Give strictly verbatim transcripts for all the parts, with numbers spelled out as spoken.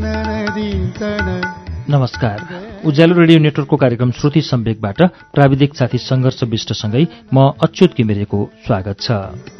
नमस्कार। उज्यालो रेडियो नेटवर्कको कार्यक्रम श्रुति सम्वेकबाट प्राविधिक साथी सङ्घर्ष विष्टसँगै म अच्युत घिमिरेको स्वागत छ।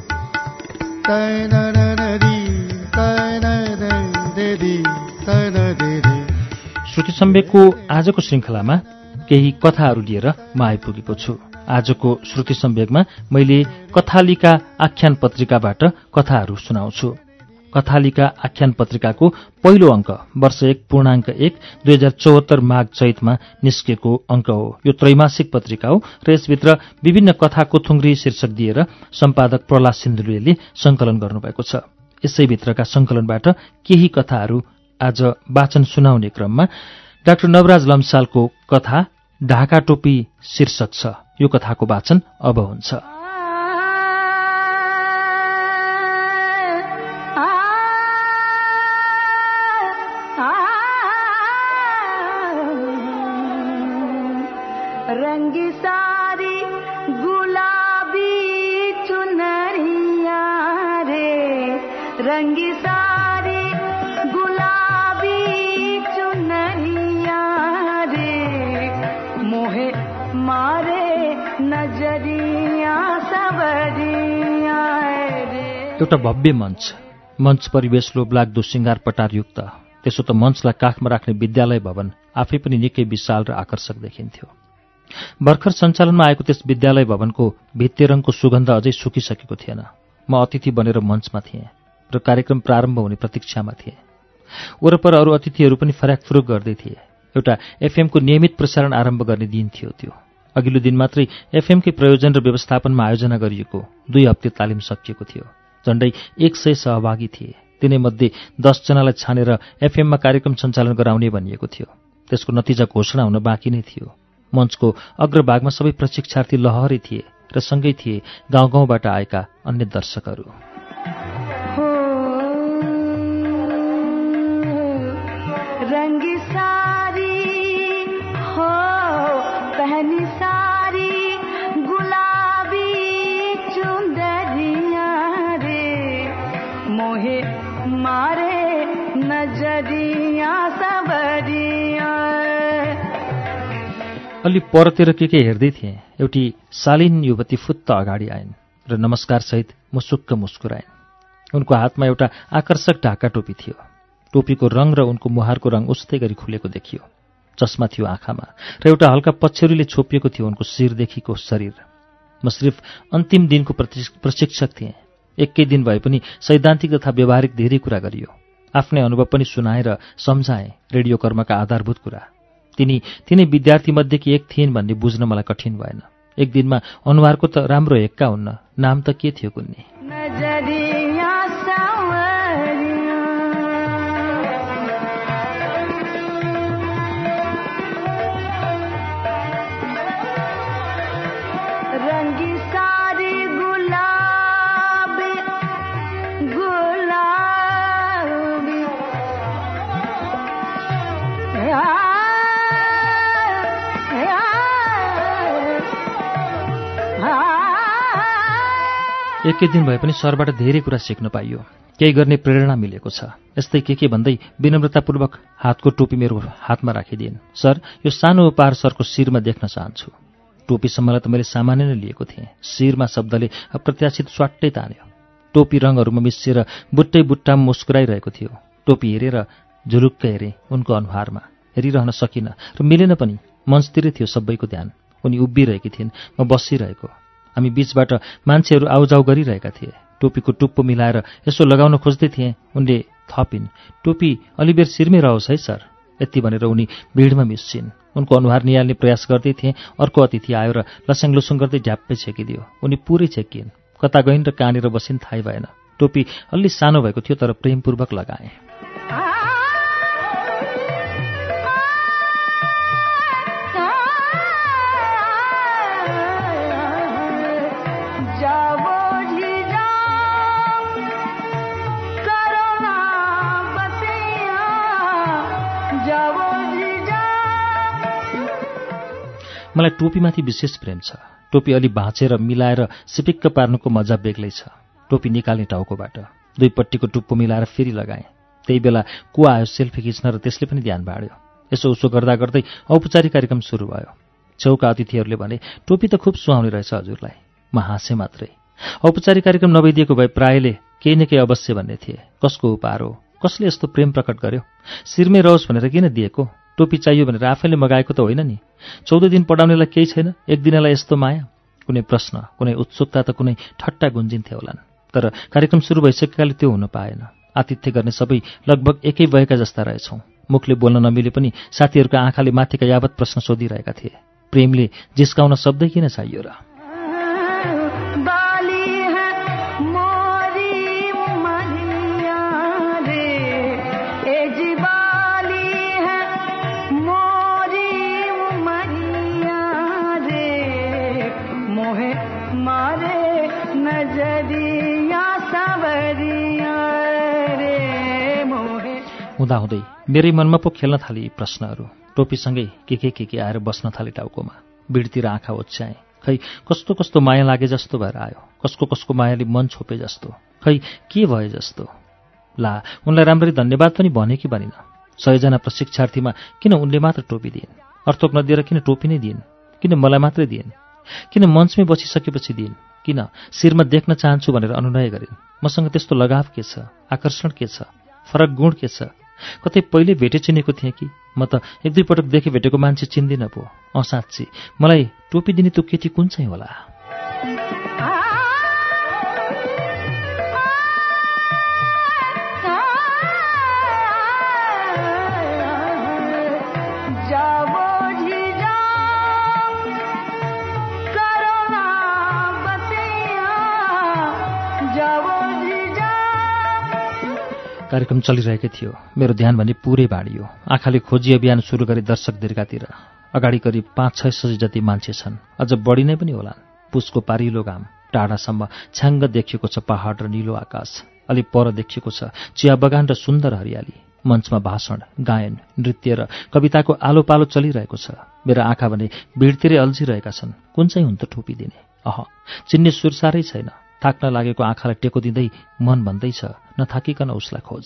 श्रुति सम्वेकको आजको श्रृङ्खलामा केही कथाहरू लिएर म आइपुगेको छु। आजको श्रुति सम्वेकमा मैले कथालिका आख्यान पत्रिकाबाट कथाहरू सुनाउँछु। कथालिका आख्यान पत्रिकाको पहिलो अङ्क वर्ष एक पूर्णाङ्क एक दुई हजार चौहत्तर माघ चैतमा निस्केको अङ्क हो। यो त्रैमासिक पत्रिका हो र यसभित्र विभिन्न कथाको थुङ्ग्री शीर्षक दिएर सम्पादक प्रहलाद सिन्धुलीले सङ्कलन गर्नुभएको छ। यसैभित्रका सङ्कलनबाट केही कथाहरू आज वाचन सुनाउने क्रममा डाक्टर नवराज लम्सालको कथा ढाका टोपी शीर्षक छ। यो कथाको वाचन अब हुन्छ। रंगी सारी गुलाबी चुनरिया रे, रंगी सारी गुलाबी चुनरिया रे, मोहे मारे नजरिया सबरिया रे। एउटा भव्य मञ्च मञ्च परिवेश लोभलाग्दो सिंगार पटारयुक्त। त्यसो त मञ्चलाई काखमा राख्ने विद्यालय भवन आफै पनि निकै विशाल र आकर्षक देखिन्थ्यो। भर्खर सञ्चालनमा आएको त्यस विद्यालय भवनको भित्तेरङको सुगन्ध अझै सुकिसकेको थिएन। म अतिथि बनेर मञ्चमा थिएँ र कार्यक्रम प्रारम्भ हुने प्रतीक्षामा थिएँ। वरपर अरू अतिथिहरू पनि फराकफुरुक गर्दै थिए। एउटा एफएमको नियमित प्रसारण आरम्भ गर्ने दिन थियो त्यो। अघिल्लो दिन मात्रै एफएमकै प्रयोजन र व्यवस्थापनमा आयोजना गरिएको दुई हप्ते तालिम सकिएको थियो। झण्डै एक सय सहभागी थिए। तिनैमध्ये दसजनालाई छानेर एफएममा कार्यक्रम सञ्चालन गराउने भनिएको थियो। त्यसको नतिजा घोषणा हुन बाँकी नै थियो। मञ्चको अग्रभागमा सबै प्रशिक्षार्थी लहरै थिए र सँगै थिए गाउँ गाउँबाट आएका अन्य दर्शकहरू। रंगी सारी हो पहनी सारी गुलाबी चुंदरिया रे, मोहे मारे नजरिया सबरिया। अलि परतिर के के हेर्दै थिएँ। एउटी शालीन युवती फुत्त अगाडि आइन् र नमस्कारसहित मुसुक्क मुस्कुराइन्। उनको हातमा एउटा आकर्षक ढाका टोपी थियो। टोपीको रङ र उनको मुहारको रङ उस्तै गरी खुलेको देखियो। चस्मा थियो आँखामा र एउटा हल्का पछ्यौरीले छोपिएको थियो उनको शिरदेखिको शरीर। म सिर्फ अन्तिम दिनको प्रशिक्षक थिएँ। एकै दिन भए पनि सैद्धान्तिक तथा व्यावहारिक धेरै कुरा गरियो। आफ्नै अनुभव पनि सुनाएर सम्झाएँ रेडियो कर्मका आधारभूत कुरा। तिनी तिनै विद्यार्थीमध्येकी एक थिइन् भन्ने बुझ्न मलाई कठिन भएन। एक दिनमा अनुहारको त राम्रो हेक्का हुन्न, नाम त के थियो कुन्नी। रंगी सारी गुलाबी गुलाबी एकै दिन भए पनि सरबाट धेरै कुरा सिक्न पाइयो। केही गर्ने प्रेरणा मिलेको छ। यस्तै के के भन्दै विनम्रतापूर्वक हातको टोपी मेरो हातमा राखिदिइन्। सर, यो सानो उपहार सरको शिरमा देख्न चाहन्छु। टोपीसम्मलाई त मैले सामान्य नै लिएको थिएँ। शिरमा शब्दले अप्रत्याशित स्वाट्टै तान्यो। टोपी रङहरूमा मिसिएर बुट्टै बुट्टामा मुस्कुराइरहेको थियो। टोपी हेरेर झुलुक्क हेरेँ उनको अनुहारमा। हेरिरहन सकिनँ र मिलेन पनि। मञ्चतिरै थियो सबैको ध्यान। उनी उभिरहेकी थिइन्, म बसिरहेको। हामी बीचबाट मान्छेहरू आउजाउ गरिरहेका थिए। टोपीको टुप्पो मिलाएर यसो लगाउन खोज्दै थिएँ। उनले थपिन्, टोपी अलिबेर शिरमै रहोस् है सर। यति भनेर उनी भिडमा मिसिन्। उनको अनुहार निहाल्ने प्रयास गर्दै थिएँ। अर्को अतिथि आयो र लस्याङ लुसुङ गर्दै झ्याप्पै छेकिदियो। उनी पुरै छेकिन्। कता गइन् र कहाँनिर बसिन् थाहै भएन। टोपी अलि सानो भएको थियो तर प्रेमपूर्वक लगाएँ। मलाई टोपीमाथि विशेष प्रेम छ। टोपी अलि भाँचेर मिलाएर सिपिक्क पार्नुको मजा बेग्लै छ। टोपी निकाल्ने टाउकोबाट दुईपट्टिको टुप्पो मिलाएर फेरि लगाएँ। त्यही बेला को आयो सेल्फी खिच्न र त्यसले पनि ध्यान बाँड्यो। यसो उसो गर्दा गर्दै औपचारिक कार्यक्रम सुरु भयो। छेउका अतिथिहरूले भने टोपी त खुब सुहाउने रहेछ हजुरलाई। म हाँसेँ मात्रै। औपचारिक कार्यक्रम नभइदिएको भए प्रायले केही न केही अवश्य भन्ने थिए। कसको उपहार हो, कसले यस्तो प्रेम प्रकट गर्यो, शिरमै रहोस् भनेर किन दिएको, टोपी चाहियो भनेर आफैले मगाएको त होइन नि। चौध दिन पढाउनेलाई केही छैन, एक दिनलाई यस्तो माया। कुनै प्रश्न, कुनै उत्सुकता त कुनै ठट्टा गुन्जिन्थे होलान्। तर कार्यक्रम सुरु भइसकेकाले त्यो हुन पाएन। आतिथ्य गर्ने सबै लगभग एकै भएका जस्ता रहेछौँ। मुखले बोल्न नमिले पनि साथीहरूका आँखाले माथिका यावत प्रश्न सोधिरहेका थिए। प्रेमले जिस्काउन शब्दै किन चाहियो र? हुँदाहुँदै मेरै मनमा पो खेल्न थाले प्रश्नहरू। टोपीसँगै के के के के आएर बस्न थाले टाउकोमा। बिडतिर आँखा ओछ्याएँ। खै कस्तो कस्तो माया लागे जस्तो भएर आयो। कसको कसको मायाले मन छोपे जस्तो। खै के भए जस्तो। ला उनलाई राम्ररी धन्यवाद पनि भने कि भनिन। सयजना प्रशिक्षार्थीमा किन उनले मात्र टोपी दिइन्? अर्थोक नदिएर किन टोपी नै दिइन्? किन मलाई मात्रै दिइन्? किन मञ्चमै बसिसकेपछि दिइन्? किन शिरमा देख्न चाहन्छु भनेर अनुनय गरिन्? मसँग त्यस्तो लगाव के छ? आकर्षण के छ? फरक गुण के छ? कतै पहिले भेटे चिनेको थिएँ कि? म त एक दुई पटक देखे भेटेको मान्छे चिन्दिनँ पो। अँ साँच्ची मलाई टोपी दिने त्यो केटी कुन चाहिँ होला? कार्यक्रम चलिरहेकै थियो। मेरो ध्यान भने पुरै बाँडियो। आँखाले खोजी अभियान सुरु गरे दर्शक दीर्घातिर। अगाडि करिब पाँच छ सय जति मान्छे छन्, अझ बढी नै पनि होलान्। पुसको पारिलो घाम, टाढासम्म छ्याङ्ग देखिएको छ पहाड र निलो आकाश। अलि पर देखिएको छ चिया बगान र सुन्दर हरियाली। मञ्चमा भाषण, गायन, नृत्य र कविताको आलो पालो चलिरहेको छ। मेरा आँखा भने भिडतिरै अल्झिरहेका छन्। कुन चाहिँ हुन् त टोपी दिने? अह, चिन्ने सुर साह्रै छैन। थाक्न लागेको आँखालाई टेको दिँदै मन भन्दैछ नथाकिकन उसलाई खोज।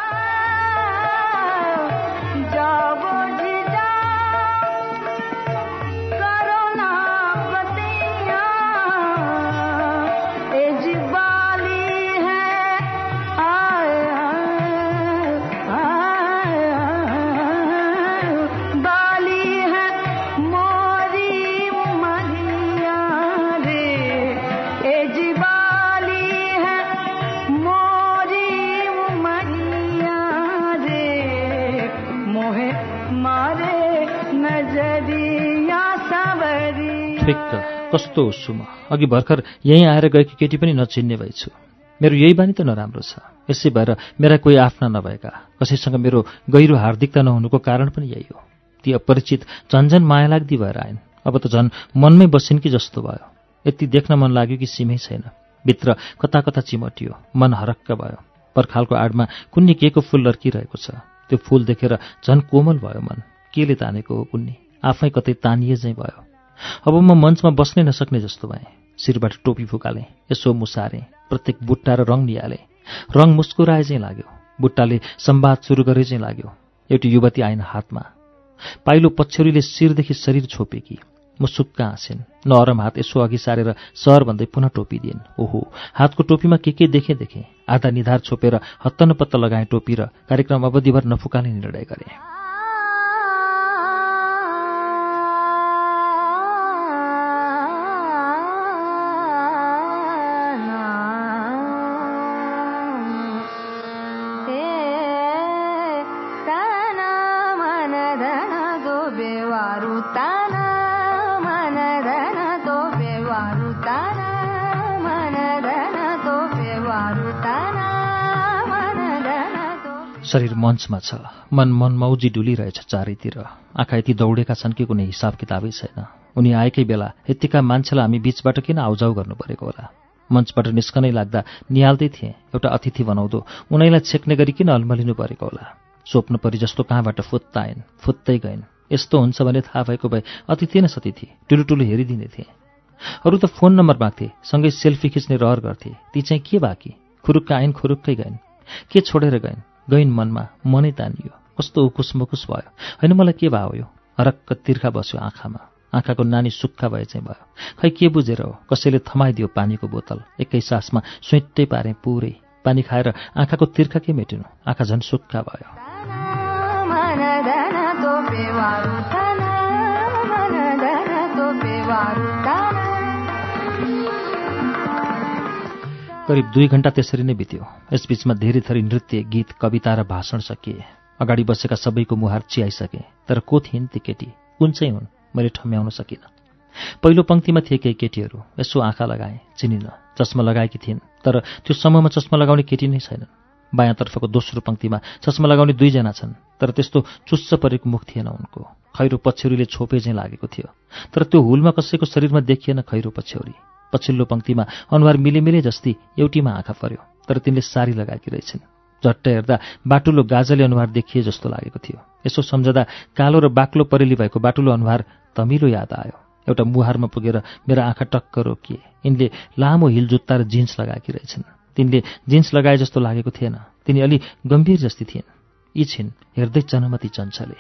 कस्तो हुस्छु म? अघि भर्खर यहीँ आएर गएकी केटी पनि नचिन्ने भएछु। मेरो यही बानी त नराम्रो छ। यसै भएर मेरा कोही आफ्ना नभएका, कसैसँग मेरो गहिरो हार्दिकता नहुनुको कारण पनि यही हो। ती अपरिचित झन्झन माया लाग्दी भएर आइन्। अब त झन् मनमै बसिन् कि जस्तो भयो। यति देख्न मन लाग्यो कि सीमै छैन। भित्र कता कता चिमटियो, मन हरक्क भयो। पर्खालको आडमा कुन्नी केको फूल लर्किरहेको छ। त्यो फूल देखेर झन् कोमल भयो मन। केले तानेको हो कुन्नी? आफै कतै तानिए चाहिँ भयो। अब म मञ्चमा बस्नै नसक्ने जस्तो भएँ। शिरबाट टोपी फुकालेँ, यसो मुसारेँ, प्रत्येक बुट्टा र रङ निहालेँ। रङ मुस्कुराए चाहिँ लाग्यो। बुट्टाले संवाद सुरु गरे चाहिँ लाग्यो। एउटी युवती आइन् हातमा। पाइलो पछ्यौरीले शिरदेखि शरीर छोपेकी। मुसुक्क हाँसिन्। नरम हात यसो अघि सारेर सर भन्दै पुनः टोपी दिइन्। ओहो, हातको टोपीमा के के देखेँ देखेँ। आधा निधार छोपेर हत्तनपत्त लगाएँ टोपी र कार्यक्रम अवधिभर नफुकाने निर्णय गरेँ। शरीर मञ्चमा छ, मन मन मौजी डुलिरहेछ चारैतिर। आँखा यति दौडेका छन् कि कुनै हिसाब किताबै छैन। उनी आएकै बेला यत्तिका मान्छेलाई हामी बीचबाट किन आउजाउ गर्नु परेको होला? मञ्चबाट निस्कनै लाग्दा निहाल्दै थिएँ, एउटा अतिथि बनाउँदो उनीलाई छेक्ने गरी किन अल्मलिनु परेको होला? स्वप्न परि जस्तो कहाँबाट फुत्ता आइन्, फुत्तै गइन्। यस्तो हुन्छ भने थाहा भएको भए अतिथि न सतिथि टुलु टुलु हेरिदिने थिए। अरू त फोन नम्बर माग्थे, सँगै सेल्फी खिच्ने रहर गर्थे। ती चाहिँ के बाँकी? खुरुक्क आइन्, खुरुक्कै गइन्। के छोडेर गइन्? गइन् मनमा, मनै तानियो। कस्तो उकुस मुकुस भयो। होइन मलाई के भयो यो? हरक्क तिर्खा बस्यो आँखामा। आँखाको नानी सुक्खा भए चाहिँ भयो। खै के बुझेर हो? कसैले थमाइदियो पानीको बोतल। एकै सासमा सुइट्टै पारेँ पुरै। पानी खाएर आँखाको तिर्खा के मेटिनु? आँखा झन् सुक्खा भयो। करिब दुई घण्टा त्यसरी नै बित्यो। यसबीचमा धेरै थरी नृत्य, गीत, कविता र भाषण सकिए। अगाडि बसेका सबैको मुहार चियाइसके। तर को थिइन् ती केटी? कुन चाहिँ हुन्? मैले ठम्म्याउन सकिनँ। पहिलो पङ्क्तिमा थिए केही केटीहरू। यसो आँखा लगाएँ, चिनिन। चस्मा लगाएकी थिइन्, तर त्यो समूहमा चस्मा लगाउने केटी नै छैनन्। बायाँतर्फको दोस्रो पङ्क्तिमा चस्मा लगाउने दुईजना छन्, तर त्यस्तो चुस्स परेको मुख थिएन उनको। खैरो पछ्यौरीले छोपे चाहिँ लागेको थियो, तर त्यो हुलमा कसैको शरीरमा देखिएन खैरो पछ्यौरी। पछिल्लो पङ्क्तिमा अनुहार मिलेमिले जस्ती एउटीमा आँखा पर्यो, तर तिनले सारी लगाएकी रहेछन्। झट्ट हेर्दा बाटुलो गाजले अनुहार देखिए जस्तो लागेको थियो। यसो सम्झदा कालो र बाक्लो परेली भएको बाटुलो अनुहार तमिलो याद आयो। एउटा मुहारमा पुगेर मेरा आँखा टक्क रोकिए। यिनले लामो हिल जुत्ता र जिन्स लगाएकी रहेछन्। तिनले जिन्स लगाए जस्तो लागेको थिएन। तिनी अलि गम्भीर जस्ती थिइन्। यी छिन् हेर्दै चनमती चञ्चले।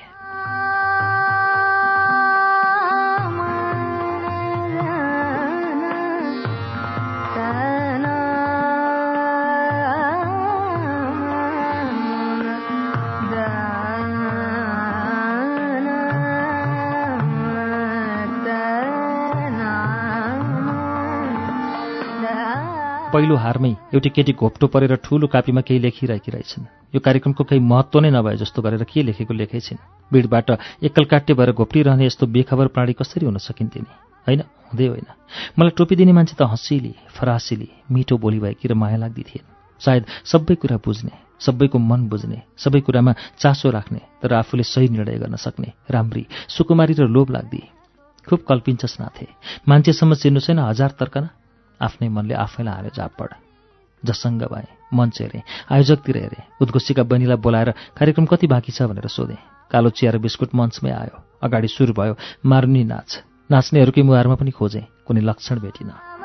पहिलो हारमै एउटी केटी घोप्टो परेर ठूलो कापीमा केही लेखिरहेकी रहेछन्। यो कार्यक्रमको केही महत्त्व नै नभए जस्तो गरेर के लेखेको लेखै छिन्। भिडबाट एक्कलकाट्टे भएर घोप्टिरहने यस्तो बेखबर प्राणी कसरी हुन सकिन्थे नि? होइन, हुँदै होइन। मलाई टोपी दिने मान्छे त हँसिली, फरासिली, मिठो बोली भएकी र माया लाग्दी थिइन्। सायद सबै कुरा बुझ्ने, सबैको मन बुझ्ने, सबै कुरामा चासो राख्ने, तर आफूले सही निर्णय गर्न सक्ने, राम्री, सुकुमारी र लोभ लाग्दी। खुब कल्पिन्छस् नाथे। मान्छेसम्म चिन्नु छैन हजार तर्कना? आफ्नै मनले आफैलाई हारे झापड। जसङ्ग भए, मञ्च हेरेँ, आयोजकतिर हेरेँ। उद्घोषीका बहिनीलाई बोलाएर कार्यक्रम कति बाँकी छ भनेर सोधेँ। कालो चिया र बिस्कुट मञ्चमै आयो। अगाडि सुरु भयो मारुनी नाच। नाच्नेहरूकै मुहारमा पनि खोजेँ, कुनै लक्षण भेटिन।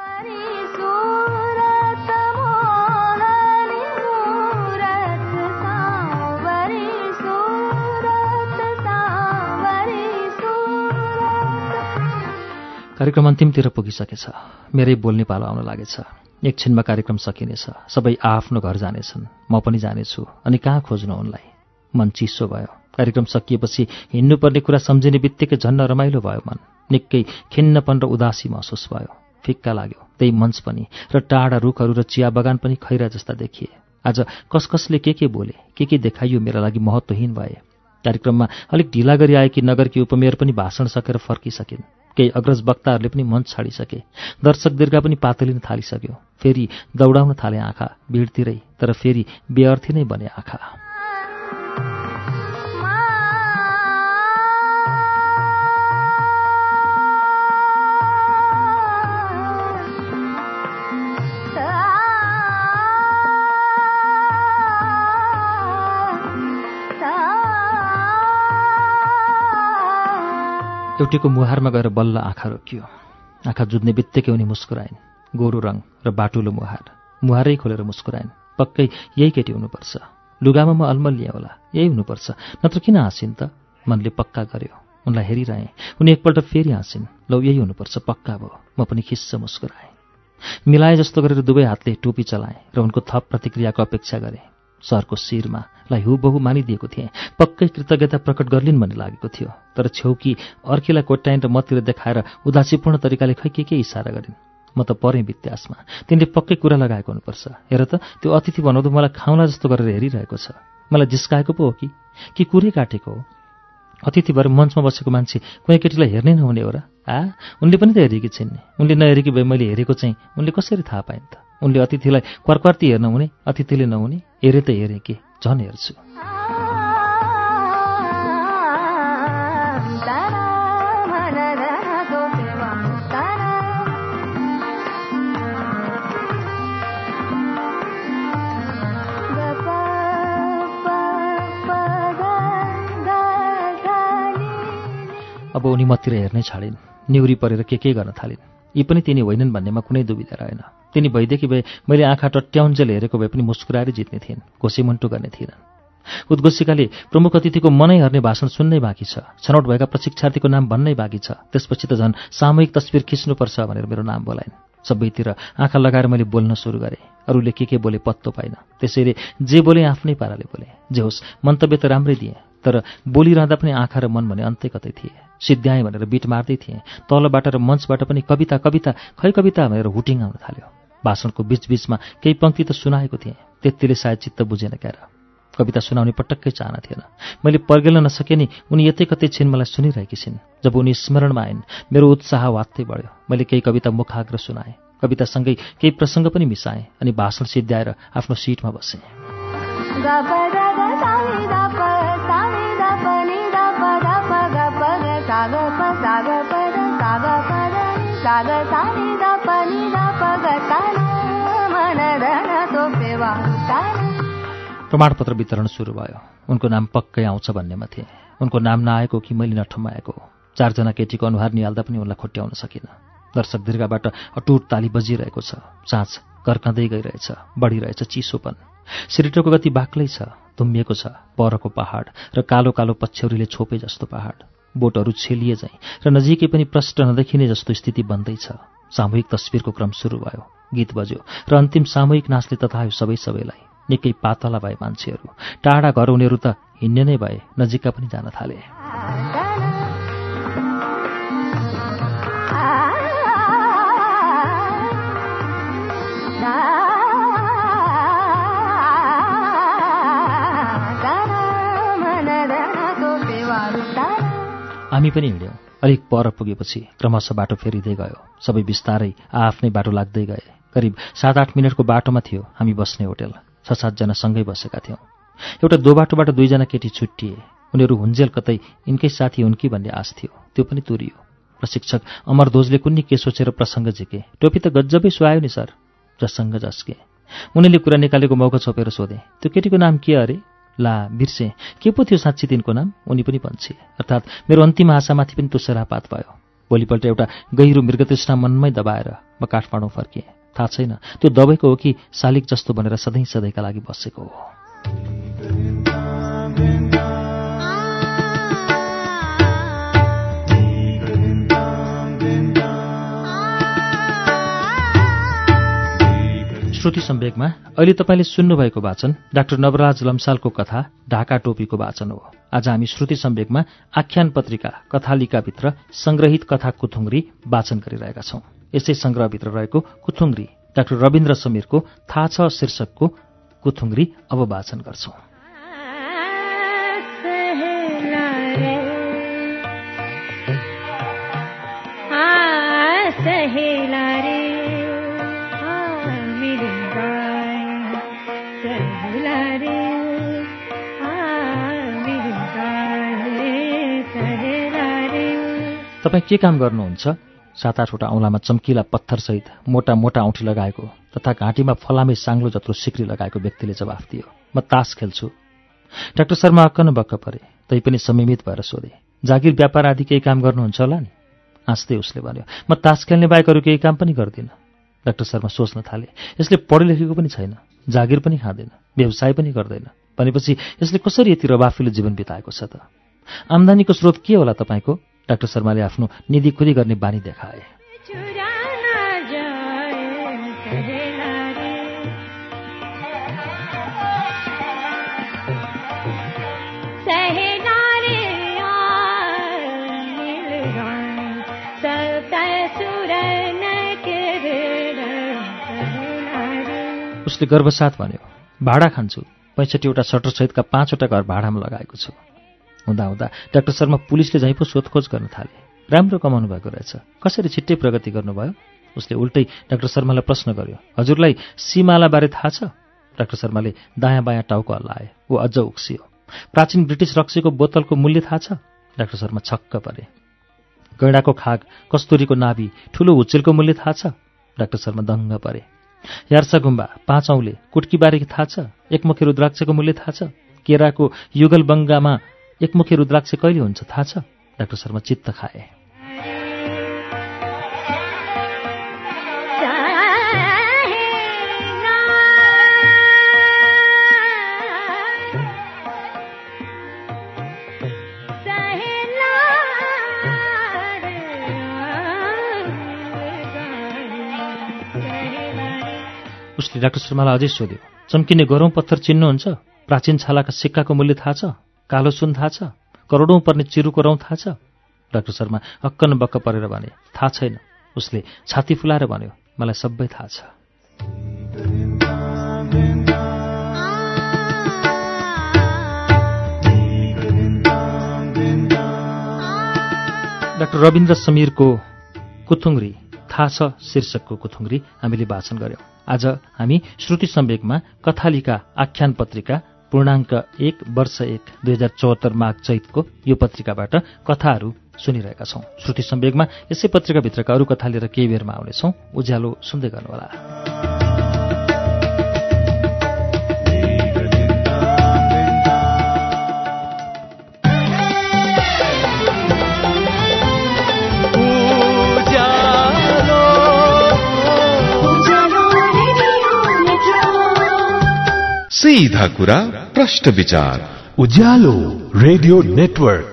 कार्यक्रम अन्तिमतिर पुगिसकेछ। मेरै बोल्ने पालो आउन लागेछ। एकछिनमा कार्यक्रम सकिनेछ। सबै आआफ्नो घर जानेछन्। म पनि जानेछु। अनि कहाँ खोज्नु उनलाई? मन चिसो भयो। कार्यक्रम सकिएपछि हिँड्नुपर्ने कुरा सम्झिने बित्तिकै झन्न रमाइलो भयो मन। निकै खिन्नपन र उदासी महसुस भयो। फिक्का लाग्यो। त्यही मञ्च पनि र टाढा रुखहरू र चिया बगान पनि खैरा जस्ता देखिए। आज कस कसले के के बोले, के के देखाइयो मेरा लागि महत्त्वहीन भए। कार्यक्रममा अलिक ढिला गरी आएकी नगरकी उपमेयर पनि भाषण सकेर फर्किसकिन्। केही अग्रज वक्ताहरूले पनि मञ्च छाडिसके। दर्शक दीर्घा पनि पातलिन थालिसक्यो। फेरि दौडाउन थाले आँखा भिडतिरै, तर फेरि बेअर्थी नै बने आँखा। एउटीको मुहारमा गएर बल्ल आँखा रोकियो। आँखा जुझ्ने बित्तिकै उनी मुस्कुराइन्। गोरु रङ र बाटुलो मुहार। मुहारै खोलेर मुस्कुराइन्। पक्कै यही केटी हुनुपर्छ। लुगामा म अल्मलिएँ होला, यही हुनुपर्छ, नत्र किन हाँसिन् त? मनले पक्का गर्यो। उनलाई हेरिरहेँ। उनी एकपल्ट फेरि हाँसिन्। लौ यही हुनुपर्छ, पक्का भयो। म पनि खिस्स मुस्कुराएँ। मिलाए जस्तो गरेर दुवै हातले टोपी चलाएँ र उनको थप प्रतिक्रियाको अपेक्षा गरेँ। सरको शिरमा लाई हुबहु मानिदिएको थिएँ। पक्कै कृतज्ञता प्रकट गर्लिन् भन्ने लागेको थियो। तर छेउकी अर्कीलाई कोट्याइन् र मतिर देखाएर उदासीपूर्ण तरिकाले खै के के इसारा गरिन्। म त परेँ वित्यासमा। तिनले पक्कै कुरा लगाएको हुनुपर्छ। हेर त, त्यो अतिथि बनाउँदो मलाई खाउँला जस्तो गरेर हेरिरहेको छ। मलाई जिस्काएको पो हो कि कि कुरै काटेको हो? अतिथि भएर मञ्चमा बसेको मान्छे कुनै केटीलाई हेर्नै नहुने हो र? आ, उनले पनि त हेरेकी छिन् नि। उनले नहेरेकी भए मैले हेरेको चाहिँ उनले कसरी थाहा पाइन् त? उनले अतिथिलाई क्वारक्वार्ती हेर्न हुने, अतिथिले नहुने? हेरे त हेरे के, झन् हेर्छु। अब उनी मतिर हेर्नै छाडिन्। निउरी परेर के के गर्न थालिन्। यी पनि तिनी होइनन् भन्नेमा कुनै दुविधा रहेन। तिनी भइदेखि भए मैले आँखा टट्याउन्जेल हेरेको भए पनि मुस्कुराएर जित्ने थिइन्, घोसीमुन्टु गर्ने थिइनन्। उद्घोषिकाले प्रमुख अतिथिको मनै हर्ने भाषण सुन्नै बाँकी छ। छनौट भएका प्रशिक्षार्थीको नाम भन्नै बाँकी छ। त्यसपछि त झन् सामूहिक तस्बिर खिच्नुपर्छ भनेर मेरो नाम बोलाइन्। सबैतिर आँखा लगाएर मैले बोल्न सुरु गरेँ। अरूले के के बोले पत्तो पाइन। त्यसैले जे बोले आफ्नै पाराले बोले। जे होस् मन्तव्य त राम्रै दिएँ, तर बोलिरहँदा पनि आँखा र मन भने अन्तै कतै थिए। सिद्ध्याएँ भनेर बिट मार्दै थिएँ। तलबाट र मञ्चबाट पनि कविता कविता खै कविता भनेर हुटिङ आउन थाल्यो। भाषणको बीचबीचमा केही पङ्क्ति त सुनाएको थिएँ, त्यतिले सायद चित्त बुझेन क्यार। कविता सुनाउने पटक्कै चाहना थिएन। मैले पर्गेल्न नसके नि उनी यतै कतै छिन्, मलाई सुनिरहेकी छिन्। जब उनी स्मरणमा आइन् मेरो उत्साह वात्तै बढ्यो। मैले केही कविता मुखाग्र सुनाएँ, कवितासँगै केही प्रसङ्ग पनि मिसाएँ अनि भाषण सिद्ध्याएर आफ्नो सिटमा बसेँ। प्रमाणपत्र वितरण सुरु भयो। उनको नाम पक्कै आउँछ भन्नेमा थिएँ। उनको नाम नआएको कि मैले नठम्माएको हो। चारजना केटीको अनुहार निहाल्दा पनि उनलाई खुट्याउन सकिनँ। दर्शक दीर्घाबाट अटुट ताली बजिरहेको छ। साँझ कर्कँदै गइरहेछ, बढिरहेछ चिसोपन। सिरिटोको गति बाक्लै छ, धुम्मिएको छ। परको पहाड र कालो कालो पछ्यौरीले छोपे जस्तो पहाड, बोटहरू छेलिए झैँ र नजिकै पनि प्रष्ट नदेखिने जस्तो स्थिति बन्दैछ। सामूहिक तस्बिरको क्रम सुरु भयो। गीत बज्यो र अन्तिम सामूहिक नाचले ततायो सबै सबैलाई। निकै पातला भए मान्छेहरू। टाढा घर उनीहरू त हिँड्ने नै भए, नजिकका पनि जान थाले। हामी पनि हिँड्यौँ। अलिक पर पुगेपछि क्रमशः बाटो फेरिँदै गयो। सबै बिस्तारै आआफ्नै बाटो लाग्दै गए। करिब सात आठ मिनटको बाटोमा थियो हामी बस्ने होटेल। छ सातजना सँगै बसेका थियौँ। एउटा दो बाटोबाट दुईजना केटी छुट्टिए। उनीहरू हुन्जेल कतै यिनकै साथी हुन् कि भन्ने आश थियो, त्यो पनि तुरियो। प्रशिक्षक अमरध्वजले कुन्नी के सोचेर प्रसङ्ग झिके। टोपी त गजबै सुहायो नि सर। जससँग जस्के उनीले कुरा निकालेको मौका छोपेर सोधे, त्यो केटीको नाम के अरे? ला बिर्से, के पो थियो साँच्ची तिनको नाम? उनी पनि भन्छे। अर्थात् मेरो अन्तिम आशामाथि पनि तुषारापात भयो। भोलिपल्ट एउटा गहिरो मृगतृष्णा मनमै दबाएर म काठमाडौँ फर्किएँ। थाहा छैन त्यो दबाईको हो कि शालिक जस्तो भनेर सधैँ सधैँका लागि बसेको हो। श्रुति सम्वेकमा अहिले तपाईँले सुन्नुभएको वाचन डाक्टर नवराज लम्सालको कथा ढाका टोपीको वाचन हो। आज हामी श्रुति सम्वेकमा आख्यान पत्रिका कथालिकाभित्र संग्रहित कथा कुथुङ्ग्री वाचन गरिरहेका छौँ। यसै संग्रहभित्र रहेको कुथुङ्ग्री डाक्टर रविन्द्र समीरको थाहा छ शीर्षकको कुथुङ्ग्री अब वाचन गर्छौँ। तपाईँ के काम गर्नुहुन्छ? सात आठवटा औँलामा चम्किला पत्थरसहित मोटा मोटा औँठी लगाएको तथा घाँटीमा फलामे साङ्लो जत्रो सिक्री लगाएको व्यक्तिले जवाफ दियो, म तास खेल्छु। डाक्टर शर्मा अक्क न बक्क परे, तैपनि संयमित भएर सोधे, जागिर व्यापार आदि केही काम गर्नुहुन्छ होला नि? हाँस्दै उसले भन्यो, म तास खेल्ने बाहेक अरू केही काम पनि गर्दिनँ। डाक्टर शर्मा सोच्न थाले, यसले पढे लेखेको पनि छैन, जागिर पनि खाँदैन, व्यवसाय पनि गर्दैन, भनेपछि यसले कसरी यति रवाफिलो जीवन बिताएको छ त? आम्दानीको स्रोत के होला तपाईँको? डाक्टर शर्माले आफ्नो निधिखुदी गर्ने बानी देखाए। उसले गर्वसाथ भन्यो, भाडा खान्छु, पैँसठीवटा सटरसहितका पाँचवटा घर भाडामा लगाएको छु। हुँदा हुँदा डाक्टर शर्मा पुलिसले झैँ पो सोधखोज गर्न थाले। राम्रो कमाउनु भएको रहेछ, कसरी छिट्टै प्रगति गर्नुभयो? उसले उल्टै डाक्टर शर्मालाई प्रश्न गर्यो, हजुरलाई सीमालाबारे थाहा छ? डाक्टर शर्माले दायाँ बायाँ टाउको हल्लाए। ऊ अझ उक्सियो। प्राचीन ब्रिटिस रक्सीको बोतलको मूल्य थाहा छ? डाक्टर शर्मा छक्क परे। गैँडाको खाग, कस्तुरीको नाभि, ठुलो हुच्चेलको मूल्य थाहा छ? डाक्टर शर्मा दङ्ग परे। यार्सा गुम्बा, पाँच औँले, कुट्कीबारे थाहा छ? एकमुखी रुद्राक्षको मूल्य थाहा छ? केराको युगलबङ्गामा एकमुखी रुद्राक्ष कहिले हुन्छ थाहा छ? डाक्टर शर्मा चित्त खाए। रमेशले डाक्टर शर्मालाई अझै सोध्यो, चम्किने गरौँ पत्थर चिन्नुहुन्छ? प्राचीन छालाका सिक्काको मूल्य थाहा छ? कालो सुन थाहा छ? करोडौँ पर्ने चिरुको रौँ थाहा छ? डाक्टर शर्मा अक्कन बक्क परेर भने, थाहा छैन। उसले छाती फुलाएर भन्यो, मलाई सबै थाहा छ। डाक्टर रविन्द्र समीरको कुथुङ्ग्री थाहा छ शीर्षकको कुथुङ्ग्री हामीले वाचन गर्यौं। आज हामी श्रुति सम्वेकमा कथालिका आख्यान पत्रिका पूर्णाङ्क एक वर्ष एक दुई हजार चौहत्तर माघ चैतको यो पत्रिकाबाट कथाहरू सुनिरहेका छौं। श्रुति सम्वेकमा यसै पत्रिकाभित्रका अरू कथा लिएर केही बेरमा आउनेछौं। उज्यालो सुन्दै गर्नुहोला। सीधा कुरा प्रश्न विचार उज्यालो रेडियो नेटवर्क।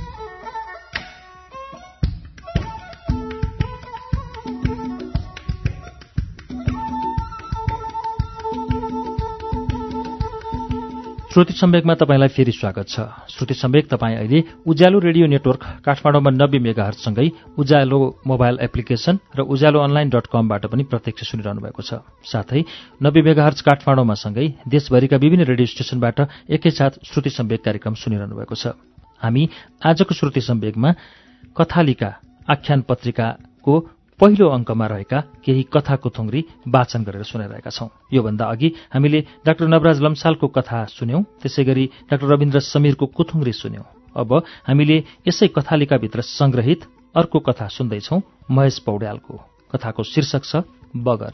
श्रुति सम्वेकमा तपाईंलाई फेरि स्वागत छ। श्रुति सम्वेक तपाईं अहिले उज्यालो रेडियो नेटवर्क काठमाडौँमा नब्बे मेगाहर्जसँगै उज्यालो मोबाइल एप्लिकेशन र उज्यालो अनलाइन डट कमबाट पनि प्रत्यक्ष सुनिरहनु भएको छ। साथै नब्बे मेगाहर्ज काठमाडौँमा सँगै देशभरिका विभिन्न रेडियो स्टेशनबाट एकैसाथ श्रुति सम्वेक कार्यक्रम सुनिरहनु भएको छ। हामी आजको श्रुति सम्वेकमा कथालिका आख्यान पत्रिकाको पहिलो अङ्कमा रहेका केही कथा कुथुङ्ग्री वाचन गरेर सुनाइरहेका छौं। योभन्दा अघि हामीले डाक्टर नवराज लम्सालको कथा सुन्यौं, त्यसैगरी डाक्टर रविन्द्र समीरको कुथुङ्ग्री सुन्यौं। अब हामीले यसै कथालिकाभित्र संग्रहित अर्को कथा सुन्दैछौं, महेश पौड्यालको। कथाको शीर्षक छ बगर।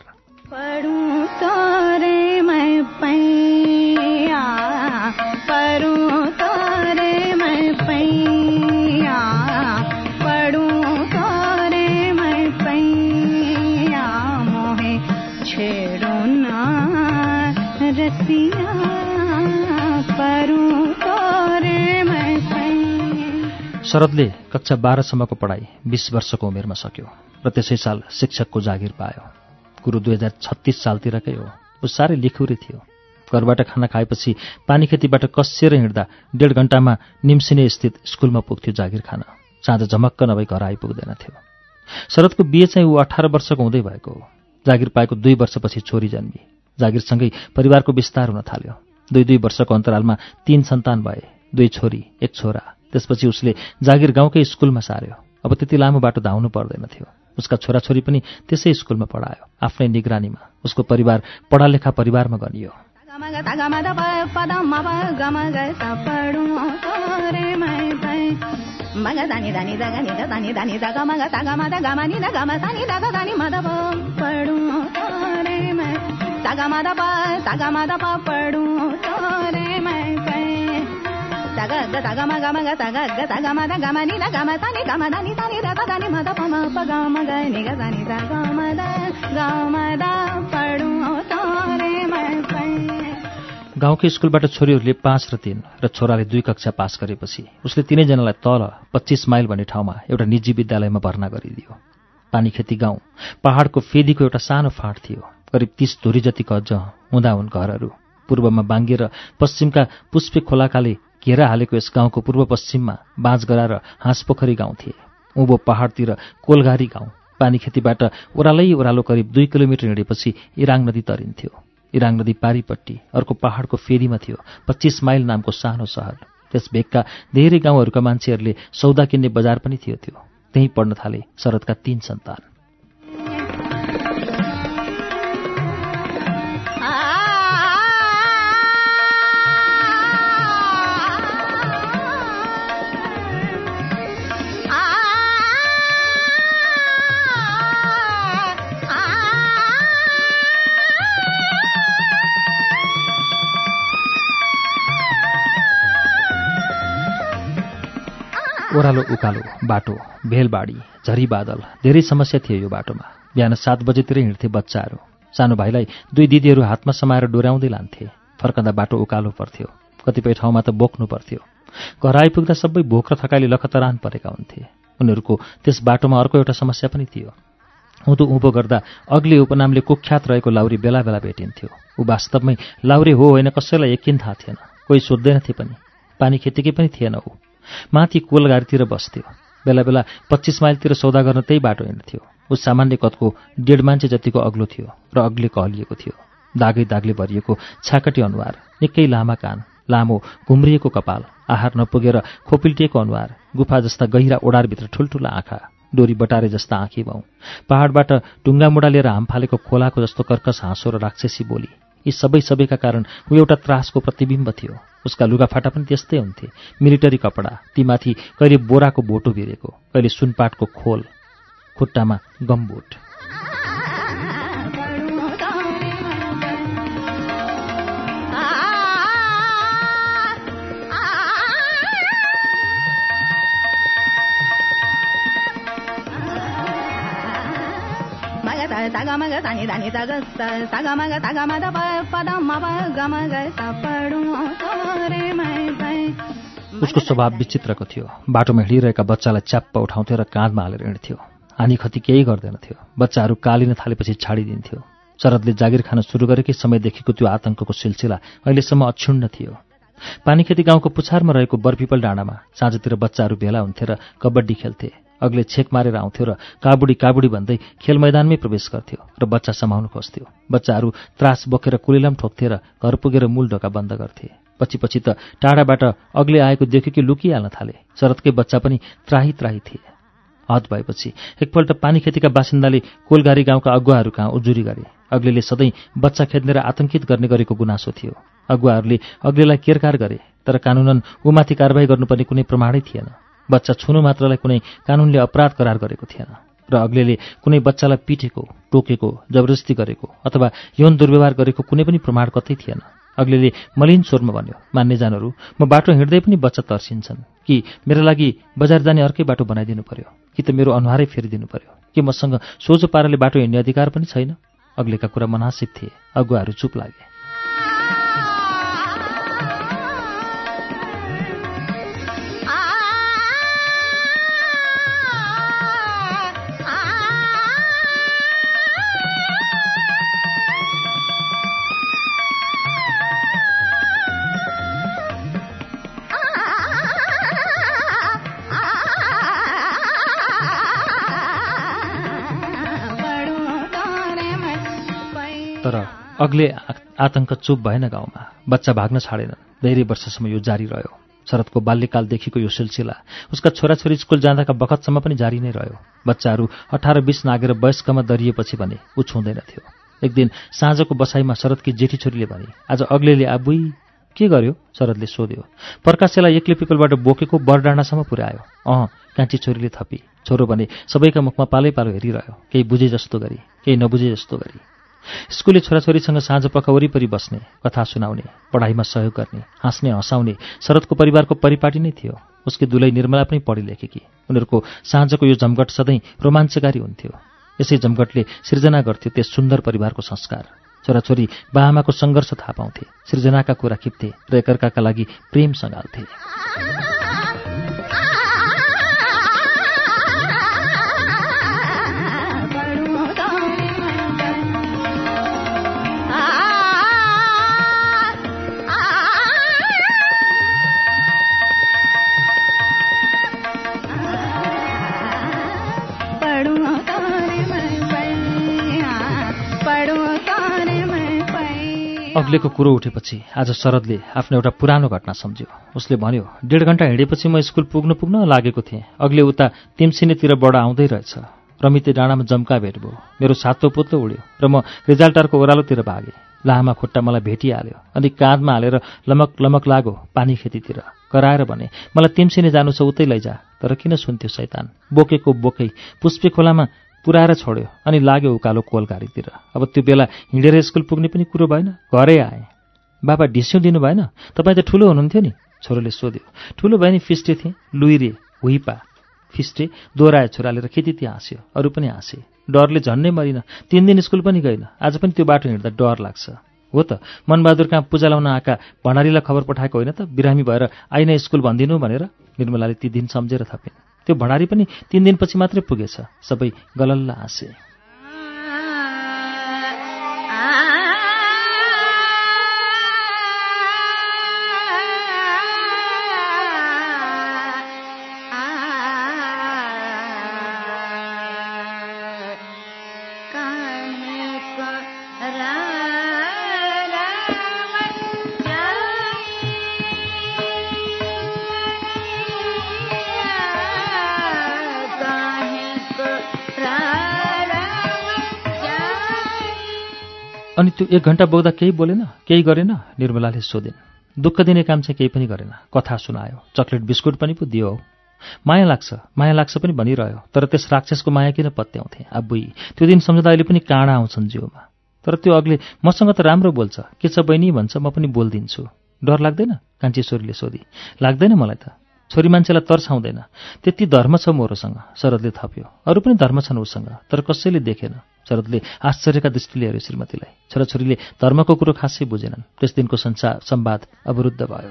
शरदले कक्षा बाह्रसम्मको पढाइ बीस वर्षको उमेरमा सक्यो र त्यसै साल शिक्षकको जागिर पायो। कुरो दुई हजार छत्तीस सालतिरकै हो। ऊ साह्रै लिखुरी थियो। घरबाट खाना खाएपछि पानीखेतीबाट कसिएर हिँड्दा डेढ घण्टामा निम्सिने स्थित स्कुलमा पुग्थ्यो जागिर खान। साँझ झमक्क नभई घर आइपुग्दैन थियो। शरदको बिहे चाहिँ ऊ अठार वर्षको हुँदै भएको हो। जागिर पाएको दुई वर्षपछि छोरी जन्मी। जागिरसँगै परिवारको विस्तार हुन थाल्यो। दुई दुई वर्षको अन्तरालमा तीन सन्तान भए, दुई छोरी एक छोरा। त्यसपछि उसले जागिर गाउँकै स्कुलमा सार्यो। अब त्यति लामो बाटो धाउनु पर्दैन थियो। उसका छोराछोरी पनि त्यसै स्कुलमा पढायो। आफ्नै निगरानीमा उसको परिवार पढालेखा परिवारमा गनियो। गाउँकै स्कुलबाट छोरीहरूले पाँच र तीन र छोराले दुई कक्षा पास गरेपछि उसले तीनैजनालाई तल पच्चीस माइल भन्ने ठाउँमा एउटा निजी विद्यालयमा भर्ना गरिदियो। पानीखेती गाउँ पहाडको फेदीको एउटा सानो फाँट थियो। करिब तीस धुरी जतिको अझ हुँदा हुन् घरहरू। पूर्वमा बाङ्गे र पश्चिमका पुष्पे खोलाकाले घेरा हालेको यस गाउँको पूर्व पश्चिममा बाँझगरा र हाँसपोखरी गाउँ थिए। उँभो पहाडतिर कोलघारी गाउँ। पानीखेतीबाट ओह्रालै ओह्रालो करिब दुई किलोमिटर हिँडेपछि इराङ नदी तरिन्थ्यो। इराङ नदी पारीपट्टि अर्को पहाडको फेदीमा थियो पच्चीस माइल नामको सानो सहर। त्यस भेगका धेरै गाउँहरूका मान्छेहरूले सौदा किन्ने बजार पनि थियो त्यो। त्यहीँ पढ्न थाले शरदका तीन सन्तान। ओह्रालो उकालो बाटो, भेलबाडी, झरी बादल, धेरै समस्या थियो यो बाटोमा। बिहान सात बजेतिर हिँड्थे बच्चाहरू। सानो भाइलाई दुई दिदीहरू हातमा समाएर डोर्याउँदै लान्थे। फर्कँदा बाटो उकालो पर्थ्यो। कतिपय ठाउँमा त बोक्नु पर्थ्यो। घर आइपुग्दा सबै भोक र थकाइले लखतरान परेका हुन्थे। उनीहरूको त्यस बाटोमा अर्को एउटा समस्या पनि थियो। उँधो उँभो गर्दा अग्ले उपनामले कुख्यात रहेको लाउरी बेला बेला भेटिन्थ्यो। ऊ वास्तवमै लाउरे हो होइन कसैलाई यकिन थाहा थिएन, कोही सोध्दैनथे पनि। पानी खेतीकै पनि थिएन। ऊ माथि कोलगारीतिर बस्थ्यो। बेला बेला पच्चिस माइलतिर सौदा गर्न त्यही बाटो हिँड्थ्यो। ऊ सामान्य कदको डेढ मान्छे जतिको अग्लो थियो र अग्ले कहलिएको थियो। दागै दागले भरिएको छाकटी अनुहार, निकै लामा कान, लामो घुम्रिएको कपाल, आहार नपुगेर खोपिल्टिएको अनुहार, गुफा जस्ता गहिरा ओडारभित्र ठुल्ठुला आँखा, डोरी बटारे जस्ता आँखी भाउ, पहाडबाट ढुङ्गा मुढा लिएर हाम फालेको खोलाको जस्तो कर्कश हाँसो र राक्षसी बोली, यी सबै सबैका कारण ऊ एउटा त्रासको प्रतिबिम्ब थियो। उसका लुगाफाटा पनि त्यस्तै हुन्थे, मिलिटरी कपडा, तीमाथि कहिले बोराको बोटो भिरेको, कहिले सुनपाटको खोल, खुट्टामा गमबुट। उसको स्वभाव विचित्रको थियो। बाटोमा हिँडिरहेका बच्चालाई च्याप्प उठाउँथ्यो र काँधमा हालेर हिँड्थ्यो। हानि खती केही गर्दैनथ्यो। बच्चाहरू कालिन थालेपछि छाडिदिन्थ्यो। शरदले जागिर खान सुरु गरेकै समयदेखिको त्यो आतंकको सिलसिला अहिलेसम्म अक्षुण्ण थियो। पानीखेती गाउँको पुछारमा रहेको बरपिपल डाँडामा साँझतिर बच्चाहरू भेला हुन्थे र कबड्डी खेल्थे। अग्ले छेक मारेर आउँथ्यो र काबुडी काबुडी भन्दै खेल मैदानमै प्रवेश गर्थ्यो र बच्चा समाउनु खोज्थ्यो। बच्चाहरू त्रास बोकेर कुलिलाम ठोक्थे र घर पुगेर मूल ढोका बन्द गर्थे। पछि पछि त टाढाबाट अग्ले आएको देख्यो कि लुकिहाल्न थाले। शरदकै बच्चा पनि त्राही त्राही थिए। हद भएपछि एकपल्ट पानीखेतीका बासिन्दाले कोलगारी गाउँका अगुवाहरू कहाँ उजुरी गरे। अग्लेले सधैँ बच्चा खेद्ने र आतंकित गर्ने गरेको गुनासो थियो। अगुवाहरूले अग्लेलाई केरकार गरे, तर कानुनन उमाथि कारबाही गर्नुपर्ने कुनै प्रमाणै थिएन। बच्चा छुनु मात्रलाई कुनै कानुनले अपराध करार गरेको थिएन र अग्लेले कुनै बच्चालाई पिटेको, टोकेको, जबरजस्ती गरेको अथवा यौन दुर्व्यवहार गरेको कुनै पनि प्रमाण कतै थिएन। अग्लेले मलिन स्वरमा भन्यो, मान्नेजनहरू, म बाटो हिँड्दै पनि बच्चा तर्सिन्छन् कि मेरा लागि बजार जाने अर्कै बाटो बनाइदिनु पर्यो, कि त मेरो अनुहारै फेरिदिनु पर्यो, कि मसँग सोझो पाराले बाटो हिँड्ने अधिकार पनि छैन। अग्लेका कुरा मनासिब थिए। अगुवाहरू चुप लागे। तर अग्ले आतंक चुप भएन। गाउँमा बच्चा भाग्न छाडेनन्। धेरै वर्षसम्म यो जारी रह्यो। शरदको बाल्यकालदेखिको यो सिलसिला उसका छोराछोरी स्कुल जाँदाका बखतसम्म पनि जारी नै रह्यो। बच्चाहरू अठार बीस नागेर वयस्कमा दरिएपछि भने ऊ छुँदैनथ्यो। एक दिन साँझको बसाइमा शरदकी जेठी छोरीले भने, आज अग्लेले आबुई के गर्यो? शरदले सोध्यो। प्रकाशलाई एक्लै पिपलबाट बोकेको बरडाँडासम्म पुर्यायो। अँ, कान्छी छोरीले थपी। छोरो भने सबैका मुखमा पालै पालो हेरिरह्यो, केही बुझे जस्तो गरी, केही नबुझे जस्तो गरी। स्कुले छोराछोरीसँग साँझ पख वरिपरि बस्ने, कथा सुनाउने, पढाइमा सहयोग गर्ने, हाँस्ने हँसाउने शरदको परिवारको परिपाटी नै थियो। उसकी दुलै निर्मला पनि पढी लेखेकी। उनीहरूको साँझको यो जमघट सधैँ रोमाञ्चकारी हुन्थ्यो। यसै जमघटले सृजना गर्थ्यो त्यस सुन्दर परिवारको संस्कार। छोराछोरी बाआमाको सङ्घर्ष थाहा पाउँथे, सृजनाका कुरा खिप्थे र एकअर्काका लागि प्रेम सँगाल्थे। अग्लेको कुरो उठेपछि आज शरदले आफ्नो एउटा पुरानो घटना सम्झ्यो। उसले भन्यो, डेढ घण्टा हिँडेपछि म स्कुल पुग्नु पुग्न लागेको थिएँ। अग्ले उता तिमसिनेतिरबाट आउँदै रहेछ। रमिते डाँडामा जम्का भेट भयो। मेरो सातो पुत्लो उड्यो र म रिजाल्टारको ओह्रालोतिर भागेँ। लामा खुट्टा मलाई भेटिहाल्यो अनि काँधमा हालेर लमक लमक लाग्यो पानी खेतीतिर। कराएर भने, मलाई तिमसिने जानु छ, उतै लैजा। तर किन सुन्थ्यो शैतान। बोकेको बोकै पुष्पे खोलामा पुऱ्याएर छोड्यो अनि लाग्यो उकालो कोलगारीतिर। अब त्यो बेला हिँडेर स्कुल पुग्ने पनि कुरो भएन। घरै आएँ। बाबा ढिस्यौँ दिनु भएन? तपाईँ त ठुलो हुनुहुन्थ्यो नि? छोरोले सोध्यो। ठुलो भयो नि, फिस्टे थिएँ। लुइरे हुइपा फिस्टे दोहोऱ्यायो छोराले र खेती त्यहाँ हाँस्यो। अरू पनि हाँसे। डरले झन्नै मरिन। तिन दिन स्कुल पनि गइन। आज पनि त्यो बाटो हिँड्दा डर लाग्छ। हो त, मनबहादुर कहाँ पूजा लाउन आएका भण्डारीलाई खबर पठाएको होइन त, बिरामी भएर आइन स्कुल भनिदिनु भनेर? निर्मलाले ती दिन सम्झेर थपिन्। त्यो भण्डारी पनि तीन दिनपछि मात्रै पुगेछ। सबै गलल्ल हाँसे। अनि त्यो एक घण्टा बोक्दा केही बोलेन, केही गरेन? निर्मलाले सोधिन्। दुःख दिने काम चाहिँ केही पनि गरेन, कथा सुनायो, चक्लेट बिस्कुट पनि पो दियो हौ। माया लाग्छ माया लाग्छ पनि भनिरह्यो, तर त्यस राक्षसको माया किन पत्याउँथे? आबुई, त्यो दिन सम्झँदा अहिले पनि काँडा आउँछन् जिउमा। तर त्यो अग्ले मसँग त राम्रो बोल्छ, के छ बहिनी भन्छ, म पनि बोलिदिन्छु। डर लाग्दैन? कान्छी छोरीले सोधी। लाग्दैन मलाई त, छोरी मान्छेलाई तर्साउँदैन, त्यति धर्म छ मोरोसँग, शरदले थप्यो। अरू पनि धर्म छन् उसँग, तर कसैले देखेन। शरदले आश्चर्यका दृष्टिले हेऱ्यो श्रीमतीलाई। छोराछोरीले धर्मको कुरो खासै बुझेनन्। त्यस दिनको संसार संवाद अवरुद्ध भयो।